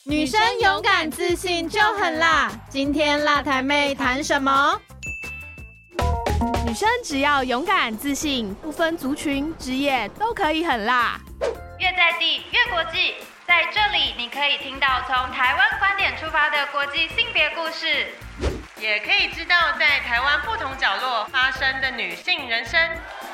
女生勇敢自信就很辣。今天辣台妹谈什么？ 女生只要勇敢自信，不分族群、职业都可以很辣。 越在地越国际，在这里你可以听到从台湾观点出发的国际性别故事， 也可以知道在台湾不同角落发生的女性人生。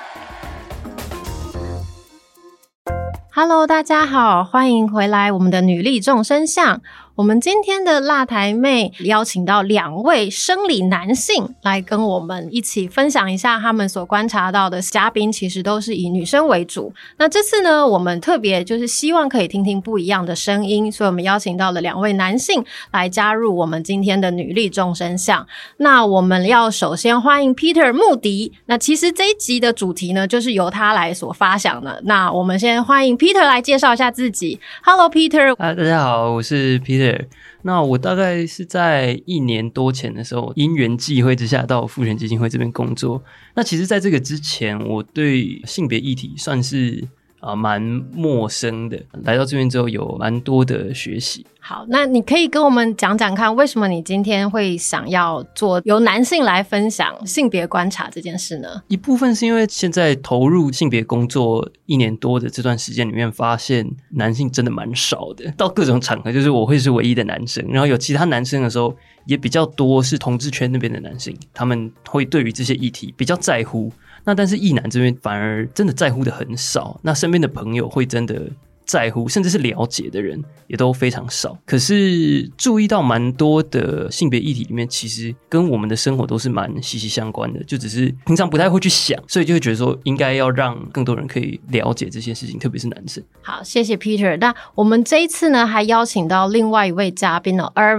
Hello， 大家好，欢迎回来我们的女力众生相。我们今天的辣台妹邀请到2位生理男性来跟我们一起分享一下他们所观察到的嘉宾其实都是以女生为主。那这次呢，我们特别就是希望可以听听不一样的声音，所以我们邀请到了2位男性来加入我们今天的女力众生相。那我们要首先欢迎 Peter 穆迪。那其实这一集的主题呢，就是由他来所发想的。那我们先欢迎 Peter 来介绍一下自己。Hello Peter。 大家好，我是 Peter。那我大概是在1年多前的时候，因缘际会之下到妇权基金会这边工作。那其实在这个之前，我对性别议题算是蛮陌生的，来到这边之后有蛮多的学习。 好，那你可以跟我们讲讲看，为什么你今天会想要做由男性来分享性别观察这件事呢？ 一部分是因为现在投入性别工作1年多的这段时间里面，发现男性真的蛮少的，到各种场合就是我会是唯一的男生，然后有其他男生的时候也比较多是同志圈那边的男性，他们会对于这些议题比较在乎。那但是异男这边反而真的在乎的很少，那身边的朋友会真的在乎甚至是了解的人也都非常少。可是注意到蛮多的性别议题里面其实跟我们的生活都是蛮息息相关的，就只是平常不太会去想，所以就会觉得说应该要让更多人可以了解这些事情，特别是男生。 好，谢谢 Peter。 那我们这一次呢还邀请到另外一位嘉宾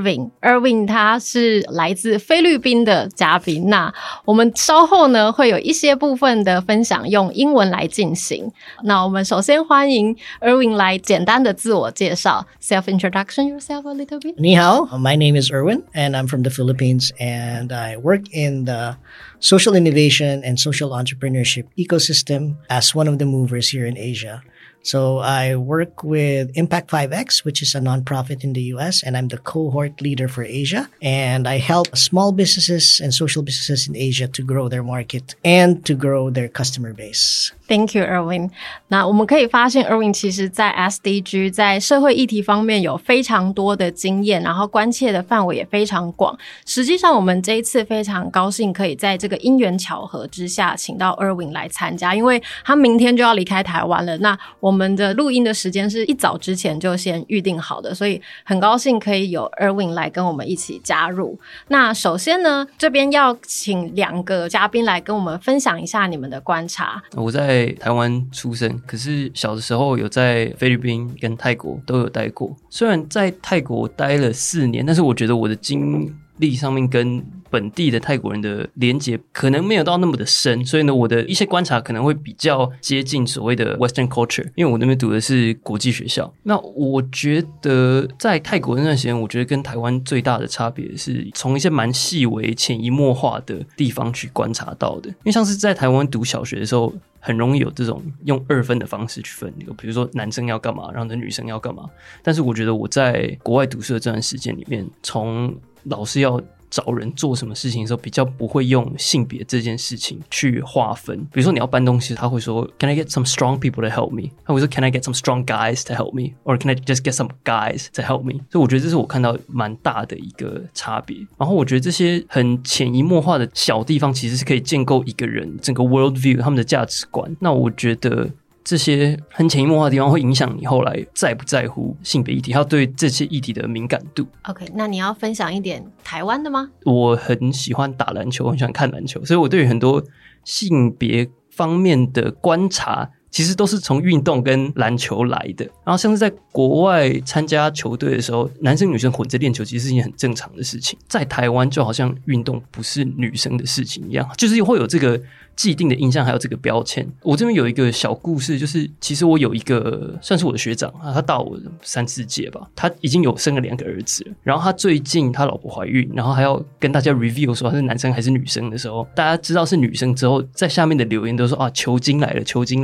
Irving 他是来自菲律宾的嘉宾。那我们稍后呢会有一些部分的分享用英文来进行。那我们首先欢迎 Irving来简单的自我介绍 Self-introduction yourself a little bit. 你好, my name is Erwin and I'm from the Philippines and I work in the social innovation and social entrepreneurship ecosystem as one of the movers here in Asia. So I work with Impact 5X, which is a nonprofit in the US, and I'm the cohort leader for Asia. And I help small businesses and social businesses in Asia to grow their market and to grow their customer base. Thank you, Erwin. 那我们可以发现 Erwin 其实在 SDG 在社会议题方面有非常多的经验，然后关切的范围也非常广。实际上我们这一次非常高兴可以在这个因缘巧合之下请到 Erwin 来参加，因为他明天就要离开台湾了。那我们的录音的时间是一早之前就先预定好的，所以很高兴可以有 Erwin 来跟我们一起加入。那首先呢，这边要请2个嘉宾来跟我们分享一下你们的观察。 我在台湾出生，可是小的时候有在菲律宾跟泰国都有待过。虽然在泰国待了4年，但是我觉得我的经历上面跟本地的泰国人的连结可能没有到那么的深，所以呢我的一些观察可能会比较接近所谓的 Western culture， 因为我那边读的是国际学校。那我觉得在泰国那段时间，我觉得跟台湾最大的差别是从一些蛮细微潜移默化的地方去观察到的。因为像是在台湾读小学的时候很容易有这种用2分的方式去分，比如说男生要干嘛，然后女生要干嘛。但是我觉得我在国外读书的这段时间里面，从老师要找人做什么事情的时候，比较不会用性别这件事情去划分。比如说你要搬东西，他会说 Can I get some strong people to help me？ 他会说 Can I get some strong guys to help me？ Or Can I just get some guys to help me？ 所以我觉得这是我看到蛮大的一个差别。然后我觉得这些很潜移默化的小地方其实是可以建构一个人整个 world view 他们的价值观。那我觉得这些很潜移默化的地方会影响你后来在不在乎性别议题，还有对这些议题的敏感度。 OK， 那你要分享一点台湾的吗？我很喜欢打篮球，很喜欢看篮球，所以我对于很多性别方面的观察其实都是从运动跟篮球来的。然后像是在国外参加球队的时候，男生女生混着练球其实是一件很正常的事情。在台湾就好像运动不是女生的事情一样，就是会有这个既定的印象还有这个标签。我这边有一个小故事，就是其实我有一个算是我的学长，他大我3-4届吧，他已经有生了2个儿子了，然后他最近他老婆怀孕，然后还要跟大家 review 说他是男生还是女生的时候，大家知道是女生之后，在下面的留言都说啊，球精来了，球精来了。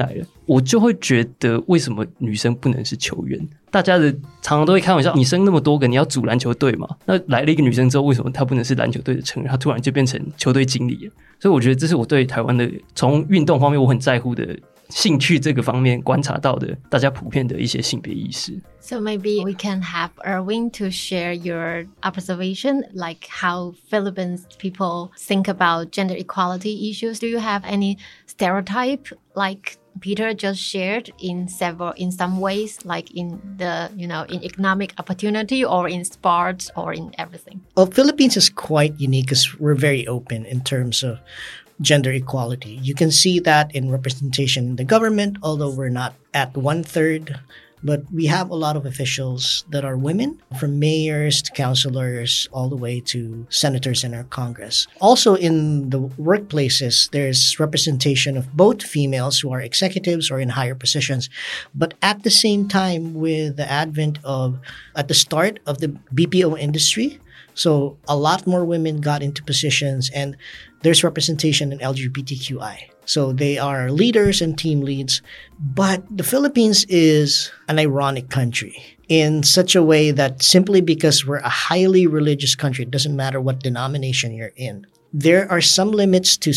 我就会觉得为什么女生不能是球员？大家的常常都会开玩笑，你生那么多个，你要组篮球队嘛？那来了一个女生之后，为什么她不能是篮球队的成员？她突然就变成球队经理了。所以我觉得这是我对台湾的从运动方面我很在乎的兴趣这个方面观察到的大家普遍的一些性别意识。 So maybe we can have Erwin to share your observation, like how Philippines people think about gender equality issues. Do you have any stereotype like Peter just shared in some ways, like in the, in economic opportunity or in sports or in everything? Well, Philippines is quite unique because we're very open in terms of gender equality. You can see that in representation in the government, although we're not at 1/3. But we have a lot of officials that are women, from mayors to councilors, all the way to senators in our Congress. Also in the workplaces, there's representation of both females who are executives or in higher positions. But at the same time, with the advent of, at the start of the BPO industry, so a lot more women got into positions, and there's representation in LGBTQI. So they are leaders and team leads. But the Philippines is an ironic country in such a way that simply because we're a highly religious country, it doesn't matter what denomination you're in. There are some limits to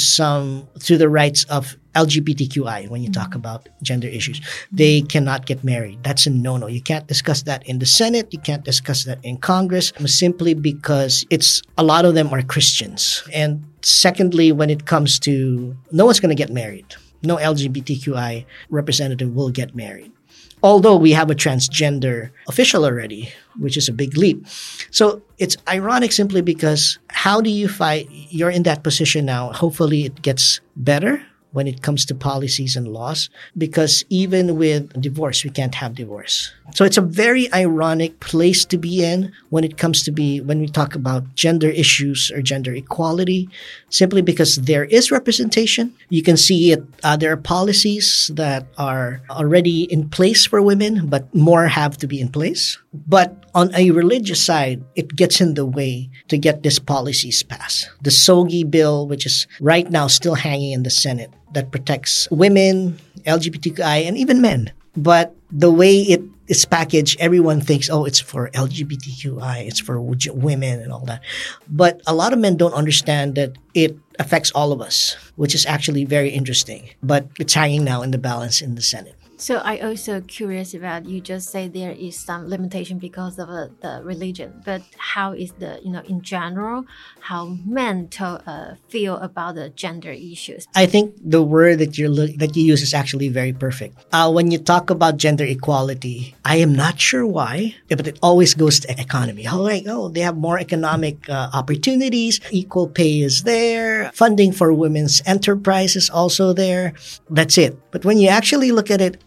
the rights of LGBTQI when you talk about gender issues. They cannot get married. That's a no-no. You can't discuss that in the Senate. You can't discuss that in Congress simply because a lot of them are Christians. And secondly, when it comes to, no one's going to get married. No LGBTQI representative will get married. Although we have a transgender official already, which is a big leap. So it's ironic simply because how do you fight? You're in that position now. Hopefully it gets better when it comes to policies and laws, because even with divorce, we can't have divorce. So it's a very ironic place to be in when we talk about gender issues or gender equality, simply because there is representation. You can see it. There are policies that are already in place for women, but more have to be in place. But on a religious side, it gets in the way to get these policies passed. The SOGI bill, which is right now still hanging in the Senate, that protects women, LGBTQI, and even men. But the way it is packaged, everyone thinks, oh, it's for LGBTQI, it's for women and all that. But a lot of men don't understand that it affects all of us, which is actually very interesting. But it's hanging now in the balance in the Senate. So I also curious about, you just say there is some limitation because of the religion, but how is in general, how men feel about the gender issues? I think the word that you use is actually very perfect. When you talk about gender equality, I am not sure why, but it always goes to economy. They have more economic opportunities, equal pay is there, funding for women's enterprise is also there. That's it. But when you actually look at it,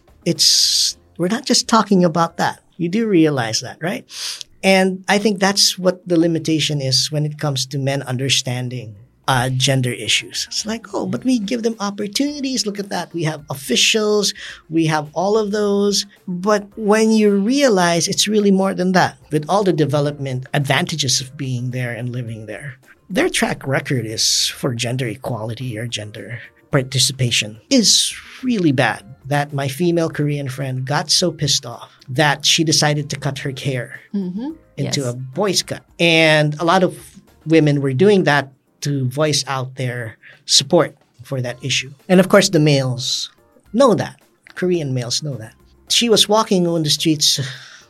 we're not just talking about that. You do realize that, right? And I think that's what the limitation is when it comes to men understanding gender issues. It's like, but we give them opportunities. Look at that. We have officials. We have all of those. But when you realize it's really more than that, with all the development advantages of being there and living there, their track record is for gender equality or gender participation is really bad. That my female Korean friend got so pissed off that she decided to cut her hair into a boy's cut. And a lot of women were doing that to voice out their support for that issue. And of course, the males know that. Korean males know that. She was walking on the streets,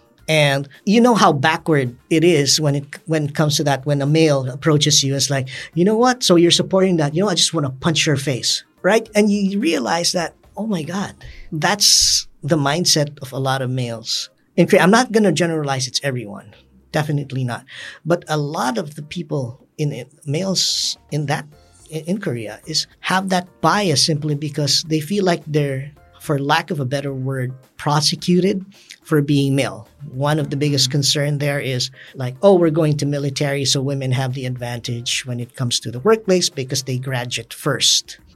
and you know how backward it is when it comes to that. When a male approaches you, it's like, you know what? So you're supporting that. I just want to punch your face, right? And you realize that, oh my God, that's the mindset of a lot of males. I'm not going to generalize it's everyone. Definitely not. But a lot of the people males in Korea have that bias simply because they feel like they're, for lack of a better word, prosecuted for being male. One of the biggest concern there is like, we're going to military, so women have the advantage when it comes to the workplace because they graduate first.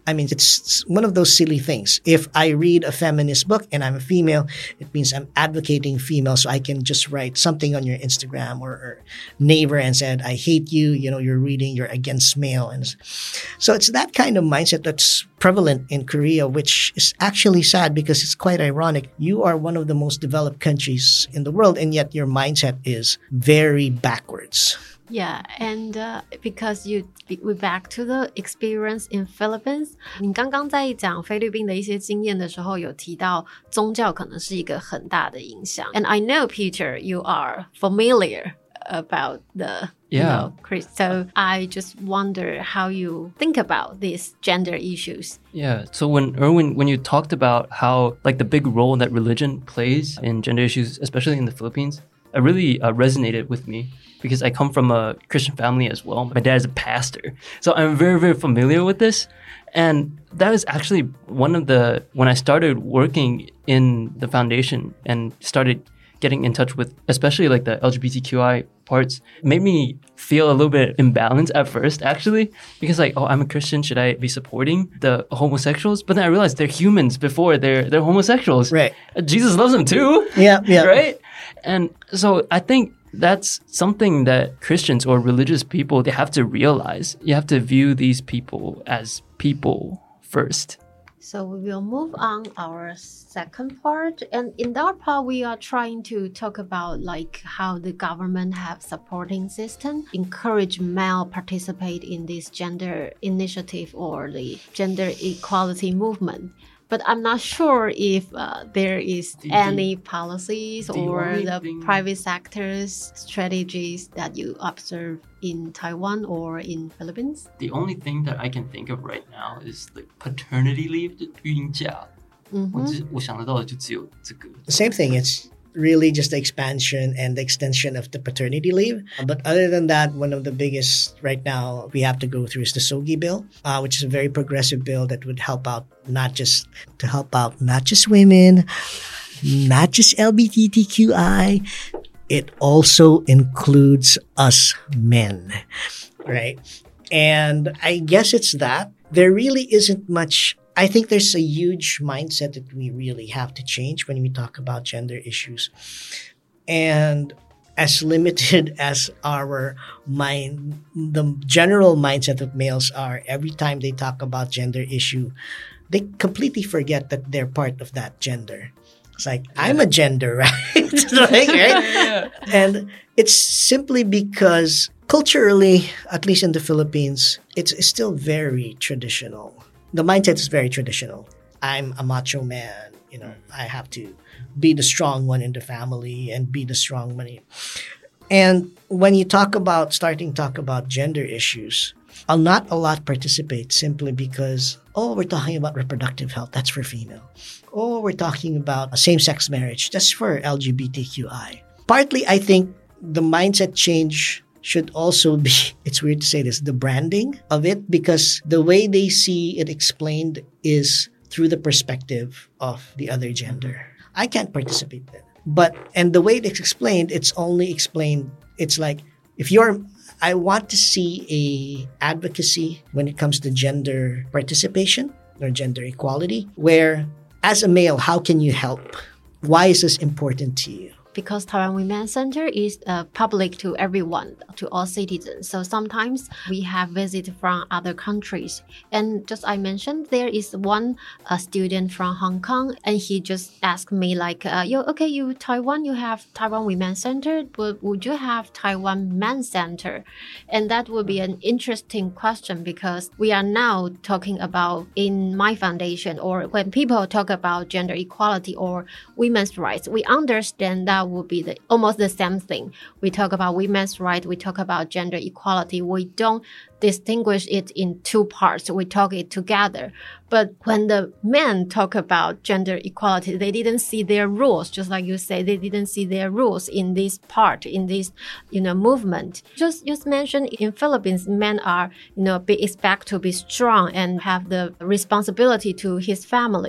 I mean, it's one of those silly things. If I read a feminist book and I'm a female, it means I'm advocating female. So I can just write something on your Instagram or neighbor and said, I hate you. You're against male. And so it's that kind of mindset that's prevalent in Korea, which is actually sad because it's quite ironic. You are one of the most developed countries in the world, and yet your mindset is very backwards. Yeah, and because we back to the experience in Philippines， 你刚刚在讲菲律宾的一些经验的时候，有提到宗教可能是一个很大的影响。And I know, Peter, you are familiar about the Chris. So I just wonder how you think about these gender issues. Yeah. So when you talked about how like the big role that religion plays in gender issues, especially in the Philippines, it really resonated with me. Because I come from a Christian family as well. My dad is a pastor. So I'm very, very familiar with this. And that was actually when I started working in the foundation and started getting in touch with, especially like the LGBTQI parts, made me feel a little bit imbalanced at first, actually. Because like, oh, I'm a Christian. Should I be supporting the homosexuals? But then I realized they're humans before they're homosexuals. Right. Jesus loves them too. Yeah. Right? And so I think that's something that Christians or religious people, they have to realize. You have to view these people as people first. So we will move on our second part. And in that part, we are trying to talk about like how the government have supporting system, encourage male participate in this gender initiative or the gender equality movement. But I'm not sure if there is any policies or the private sector's strategies that you observe in Taiwan or in Philippines. The only thing that I can think of right now is like paternity leave, 孕假。我想得到的就只有这个。 The same thing. It's really just the expansion and the extension of the paternity leave. But other than that, one of the biggest right now we have to go through is the SOGI bill, which is a very progressive bill that would help out not just women, not just LGBTQI. It also includes us men, right? And I guess it's that. There really isn't much. I think there's a huge mindset that we really have to change when we talk about gender issues. And as limited as our mind, the general mindset of males are, every time they talk about gender issue, they completely forget that they're part of that gender. It's like, I'm a gender, right? Right? Yeah. And it's simply because culturally, at least in the Philippines, it's still very traditional. The mindset is very traditional. I'm a macho man. I have to be the strong one in the family and be the strong one. And when you talk about gender issues, not a lot participate simply because, we're talking about reproductive health. That's for female. We're talking about same-sex marriage. That's for LGBTQI. Partly, I think the mindset change should also be, it's weird to say this, the branding of it, because the way they see it explained is through the perspective of the other gender. I can't participate then. And the way it's explained, it's only explained, it's like, I want to see a advocacy when it comes to gender participation or gender equality, where as a male, how can you help? Why is this important to you? Because Taiwan Women's Center is public to everyone, to all citizens. So sometimes we have visits from other countries. And just I mentioned, there is one student from Hong Kong, and he just asked me like, you Taiwan, you have Taiwan Women's Center, but would you have Taiwan Men's Center? And that would be an interesting question because we are now talking about in my foundation, or when people talk about gender equality or women's rights, we understand that would be almost the same thing. We talk about women's rights, we talk about gender equality. We don't distinguish it in two parts. We talk it together. But when the men talk about gender equality, they didn't see their rules. Just like you say, they didn't see their rules in this part, in this, movement. Just mentioned in Philippines, men are, be expected to be strong and have the responsibility to his family.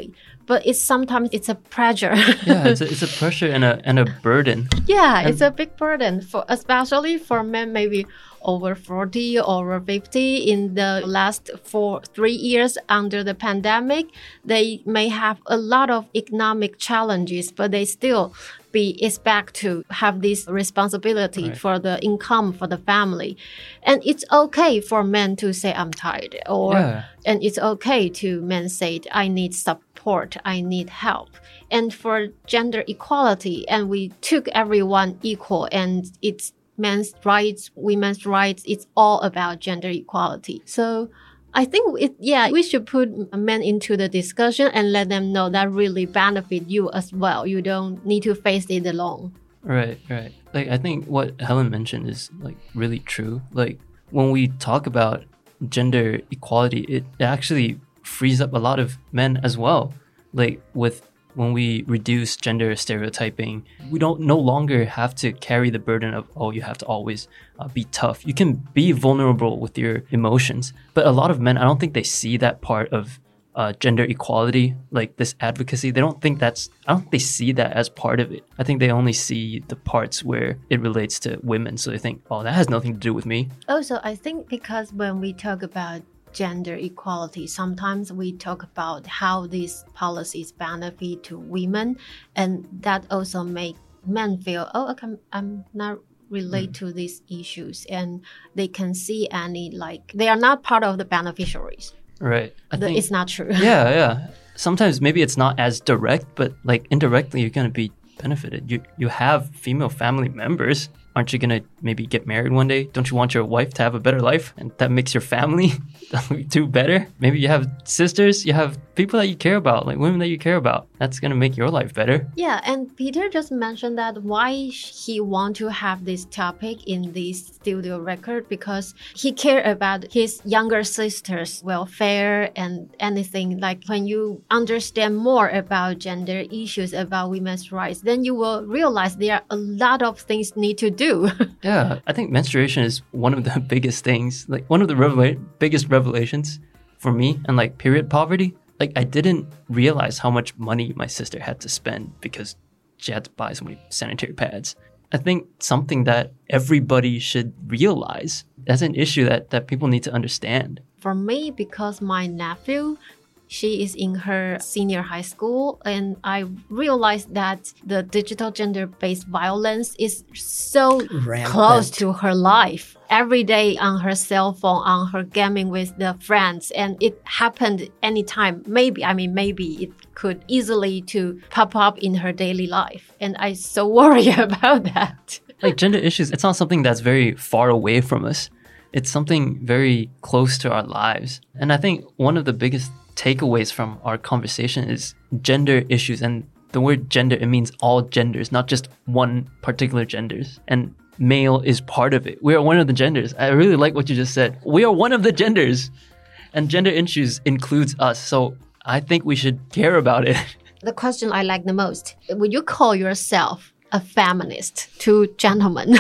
but sometimes it's a pressure. Yeah, it's a pressure and a burden. Yeah, it's a big burden especially for men maybe over 40, over 50 in the last 3 years under the pandemic. They may have a lot of economic challenges, but they still be expect to have this responsibility for the income for the family. And it's okay for men to say, I'm tired. And it's okay to men say, I need support, I need help. And for gender equality, and we took everyone equal, and it's men's rights, women's rights, it's all about gender equality. So I think we should put men into the discussion and let them know that really benefit you as well. You don't need to face it alone. Right. Like, I think what Helen mentioned is like really true. Like, when we talk about gender equality, it actually frees up a lot of men as well. Like, when we reduce gender stereotyping, we don't no longer have to carry the burden of, you have to always be tough. You can be vulnerable with your emotions. But a lot of men, I don't think they see that part of gender equality, like this advocacy. I don't think they see that as part of it. I think they only see the parts where it relates to women. So they think, that has nothing to do with me. Also, I think because when we talk about gender equality, sometimes we talk about how these policies benefit to women, and that also make men feel, I'm not relate to these issues, and they can see they are not part of the beneficiaries. Right. I think it's not true. Yeah. Sometimes maybe it's not as direct, but like indirectly you're going to be benefited. You have female family members. Aren't you going to maybe get married one day? Don't you want your wife to have a better life? And that makes your family do better? Maybe you have sisters, you have people that you care about, like women that you care about. That's going to make your life better. Yeah, and Peter just mentioned that why he want to have this topic in this studio record, because he cared about his younger sister's welfare and anything. Like, when you understand more about gender issues, about women's rights, then you will realize there are a lot of things need to do. Yeah, I think menstruation is one of the biggest things, like one of the biggest revelations for me, and like period poverty. Like, I didn't realize how much money my sister had to spend because she had to buy so many sanitary pads. I think something that everybody should realize as an issue that people need to understand. For me, because my nephew, she is in her senior high school, and I realized that the digital gender-based violence is so rampant, close to her life. Every day on her cell phone, on her gaming with the friends, and it happened anytime. Maybe it could easily to pop up in her daily life, and I so worry about that. Like, gender issues, it's not something that's very far away from us. It's something very close to our lives. And I think one of the biggest takeaways from our conversation is gender issues. And the word gender, it means all genders, not just one particular genders. And male is part of it. We are one of the genders. I really like what you just said. We are one of the genders. And gender issues includes us. So I think we should care about it. The question I like the most, would you call yourself a feminist to gentlemen?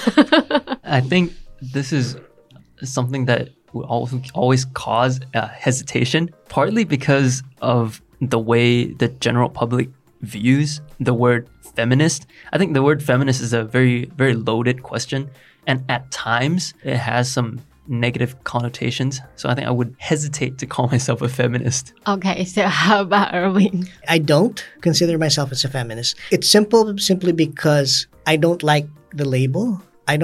I think this is something that will always cause hesitation, partly because of the way the general public views the word feminist. I think the word feminist is a very, very loaded question, and at times it has some negative connotations. So I think I would hesitate to call myself a feminist. Okay, so how about Erwin? I don't consider myself as a feminist. It's simply because I don't like the label.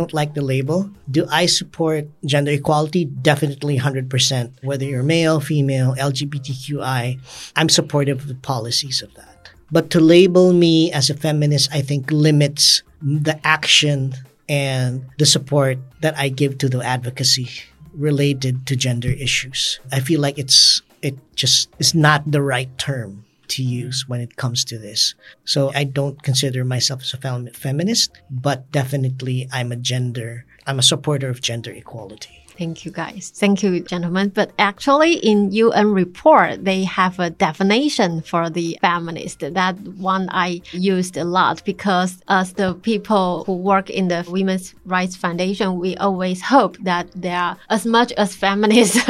Do I support gender equality? Definitely 100%. Whether you're male, female, LGBTQI, I'm supportive of the policies of that. But to label me as a feminist, I think limits the action and the support that I give to the advocacy related to gender issues. I feel like it's not the right term to use when it comes to this. So I don't consider myself as a feminist, but definitely I'm a supporter of gender equality. Thank you, guys. Thank you, gentlemen. But actually, in UN report, they have a definition for the feminist. That one I used a lot because as the people who work in the Women's Rights Foundation, we always hope that they are as much as feminists.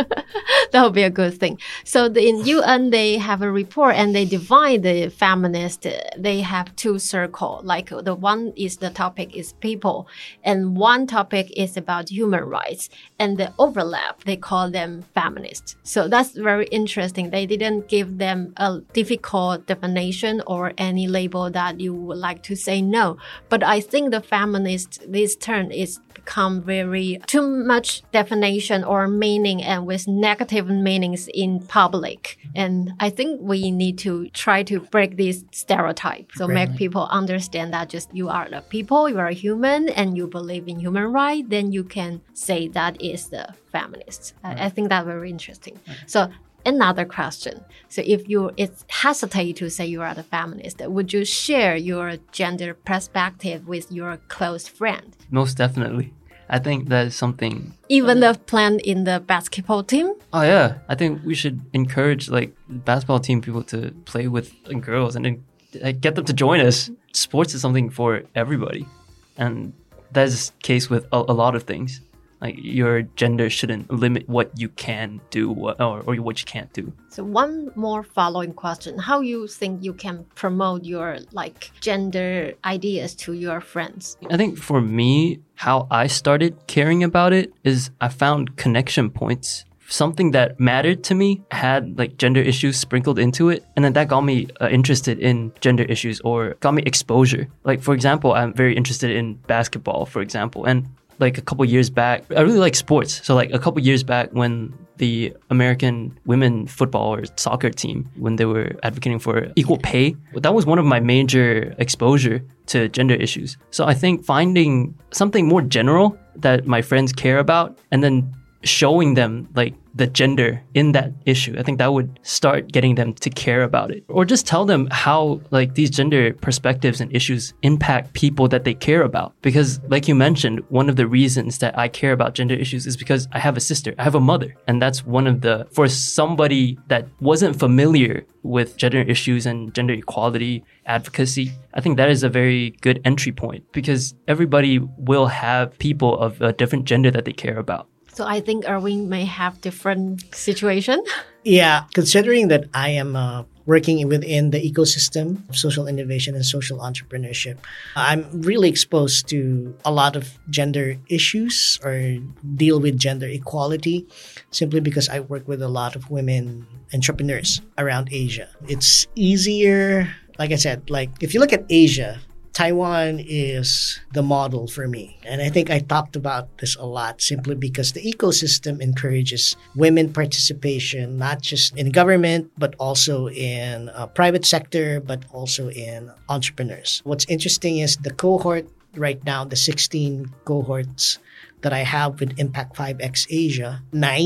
That would be a good thing. So in UN, they have a report and they divide the feminist. They have two circles. Like the one is the topic is people, and one topic is about human rights. And the overlap, they call them feminists. So that's very interesting. They didn't give them a difficult definition or any label that you would like to say no. But I think the feminist, this term is become very too much definition or meaning and with negative meanings in public. And I think we need to try to break this stereotype. So make people understand that just you are the people, you are a human and you believe in human rights, then you can say that is the feminist. I think that's very interesting. So another question. So if it's hesitate to say you are the feminist, would you share your gender perspective with your close friend? Most definitely. I think that is something. Even the plan in the basketball team? Oh yeah, I think we should encourage like basketball team people to play with girls and then get them to join us. Sports is something for everybody, and that is the case with a lot of things. Like your gender shouldn't limit what you can do or what you can't do. So one more following question. How you think you can promote your like gender ideas to your friends? I think for me, how I started caring about it is I found connection points. Something that mattered to me had like gender issues sprinkled into it. And then that got me interested in gender issues or got me exposure. Like for example, I'm very interested in basketball, for example. And like a couple years back, I really like sports. So like a couple years back when the American women football or soccer team, when they were advocating for equal pay, that was one of my major exposure to gender issues. So I think finding something more general that my friends care about and then showing them like the gender in that issue, I think that would start getting them to care about it. Or just tell them how like these gender perspectives and issues impact people that they care about. Because like you mentioned, one of the reasons that I care about gender issues is because I have a sister, I have a mother. And that's one of the, for somebody that wasn't familiar with gender issues and gender equality advocacy, I think that is a very good entry point because everybody will have people of a different gender that they care about. So I think Erwin may have different situation. Yeah, considering that I am working within the ecosystem of social innovation and social entrepreneurship, I'm really exposed to a lot of gender issues or deal with gender equality simply because I work with a lot of women entrepreneurs around Asia. It's easier, like I said, like if you look at Asia, Taiwan is the model for me. And I think I talked about this a lot simply because the ecosystem encourages women participation, not just in government, but also in private sector, but also in entrepreneurs. What's interesting is the cohort right now, the 16 cohorts that I have with Impact 5X Asia,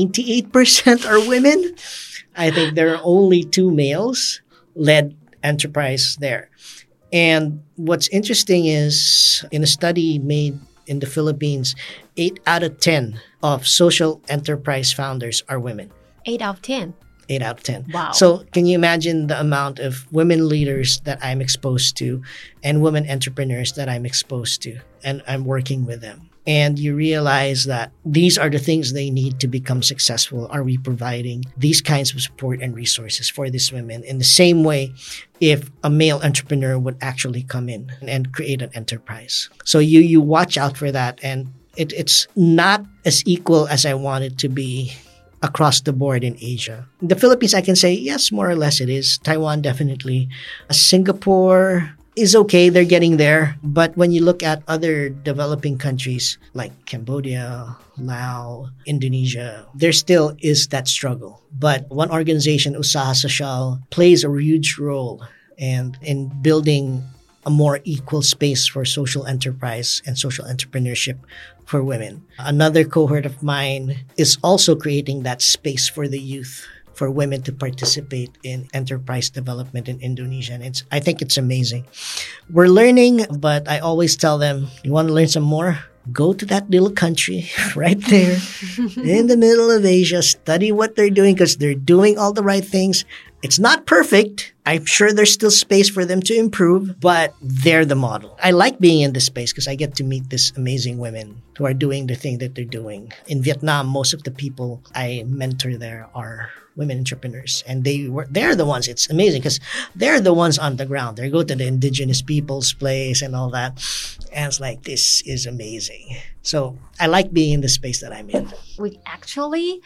98% are women. I think there are only 2 males-led enterprise there. And what's interesting is in a study made in the Philippines, 8 out of 10 of social enterprise founders are women. 8 out of 10? 8 out of 10. Wow. So can you imagine the amount of women leaders that I'm exposed to and women entrepreneurs that I'm exposed to and I'm working with them? And you realize that these are the things they need to become successful. Are we providing these kinds of support and resources for these women in the same way if a male entrepreneur would actually come in and create an enterprise? So you watch out for that. And it's not as equal as I want it to be across the board in Asia. In the Philippines, I can say, yes, more or less it is. Taiwan, definitely. Singapore is okay, they're getting there. But when you look at other developing countries like Cambodia, Laos, Indonesia, there still is that struggle. But one organization, Usaha Social, plays a huge role in building a more equal space for social enterprise and social entrepreneurship for women. Another cohort of mine is also creating that space for the youth, for women to participate in enterprise development in Indonesia. And I think it's amazing. We're learning, but I always tell them, you want to learn some more? go to that little country right there in the middle of Asia, study what they're doing because they're doing all the right things. It's not perfect. I'm sure there's still space for them to improve, but they're the model. I like being in this space because I get to meet these amazing women who are doing the thing that they're doing. In Vietnam, most of the people I mentor there are women entrepreneurs, and they're the ones. It's amazing because they're the ones on the ground. They go to the indigenous people's place and all that, and it's like, this is amazing. So I like being in the space that I'm in. We actually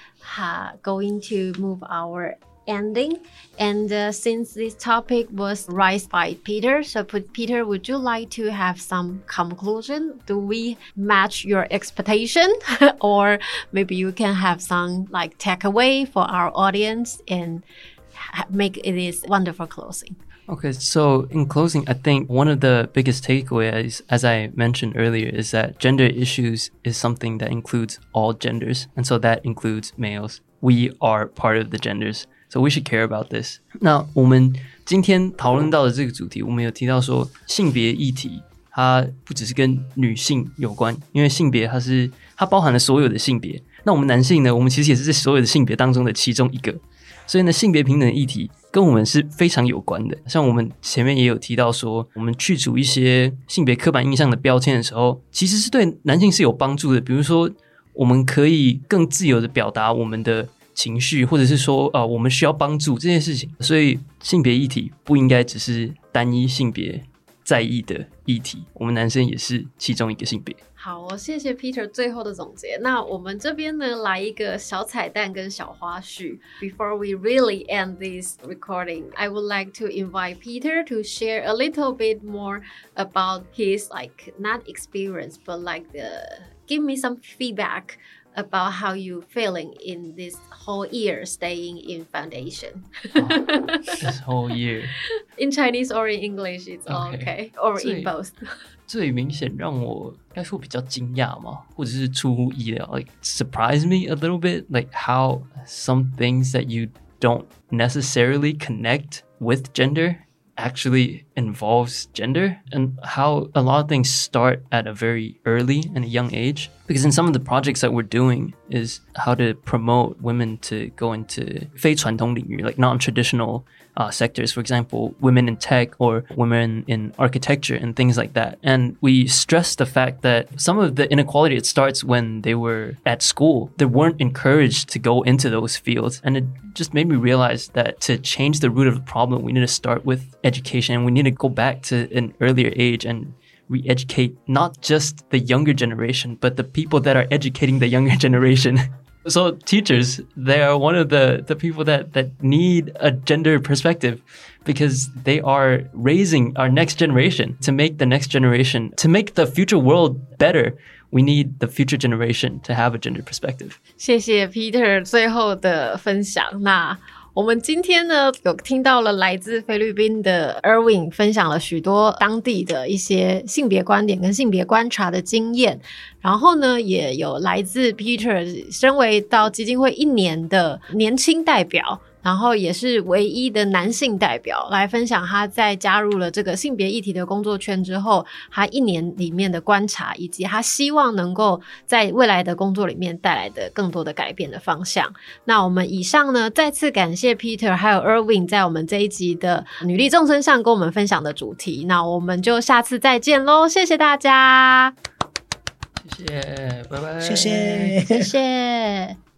going to move our ending, and since this topic was raised by Peter, so Peter, would you like to have some conclusion? Do we match your expectation? Or maybe you can have some like takeaway for our audience and make it is wonderful closing. Okay, so in closing, I think one of the biggest takeaways, as I mentioned earlier, is that gender issues is something that includes all genders, and so that includes males. We are part of the genders. So we should care about this. 那我们今天讨论到的这个主题，我们有提到说性别议题，它不只是跟女性有关，因为性别它包含了所有的性别。那我们男性呢，我们其实也是这所有的性别当中的其中一个。所以呢，性别平等的议题跟我们是非常有关的。像我们前面也有提到说，我们去除一些性别刻板印象的标签的时候，其实是对男性是有帮助的。比如说，我们可以更自由的表达我们的情绪，或者是说我们需要帮助这件事情。所以性别议题不应该只是单一性别在意的议题，我们男生也是其中一个性别。 好，谢谢 Peter 最后的总结。那我们这边呢，来一个小彩蛋跟小花絮。Before we really end this recording, I would like to invite Peter to share a little bit more about his like not experience, but like give me some feedback about how you feeling in this whole year staying in foundation. This whole year. In Chinese or in English, it's okay. Or in both. 最明显让我应该说比较惊讶嘛，或者是出乎意料 like surprise me a little bit, like how some things that you don't necessarily connect with gender actually involves gender, and how a lot of things start at a very early and a young age. Because in some of the projects that we're doing is how to promote women to go into 非传统领域, like non-traditional sectors, for example, women in tech or women in architecture and things like that. And we stress the fact that some of the inequality, it starts when they were at school. They weren't encouraged to go into those fields. And it just made me realize that to change the root of the problem, we need to start with education. And we need to go back to an earlier age and re-educate not just the younger generation, but the people that are educating the younger generation. So teachers, they are one of the people that need a gender perspective, because they are raising our next generation. To make the next generation, to make the future world better, we need the future generation to have a gender perspective. 谢谢 Peter 最后的分享。那我们今天呢，有听到了来自菲律宾的 Erwin 分享了许多当地的一些性别观点跟性别观察的经验，然后呢，也有来自 Peter 身为到基金会1年的年轻代表，然后也是唯一的男性代表，来分享他在加入了这个性别议题的工作圈之后，他1年里面的观察，以及他希望能够在未来的工作里面带来的更多的改变的方向。那我们以上呢，再次感谢 Peter 还有 Erwin 在我们这一集的女力众生上跟我们分享的主题。那我们就下次再见咯，谢谢大家， 谢谢，拜拜， 谢谢， 谢谢。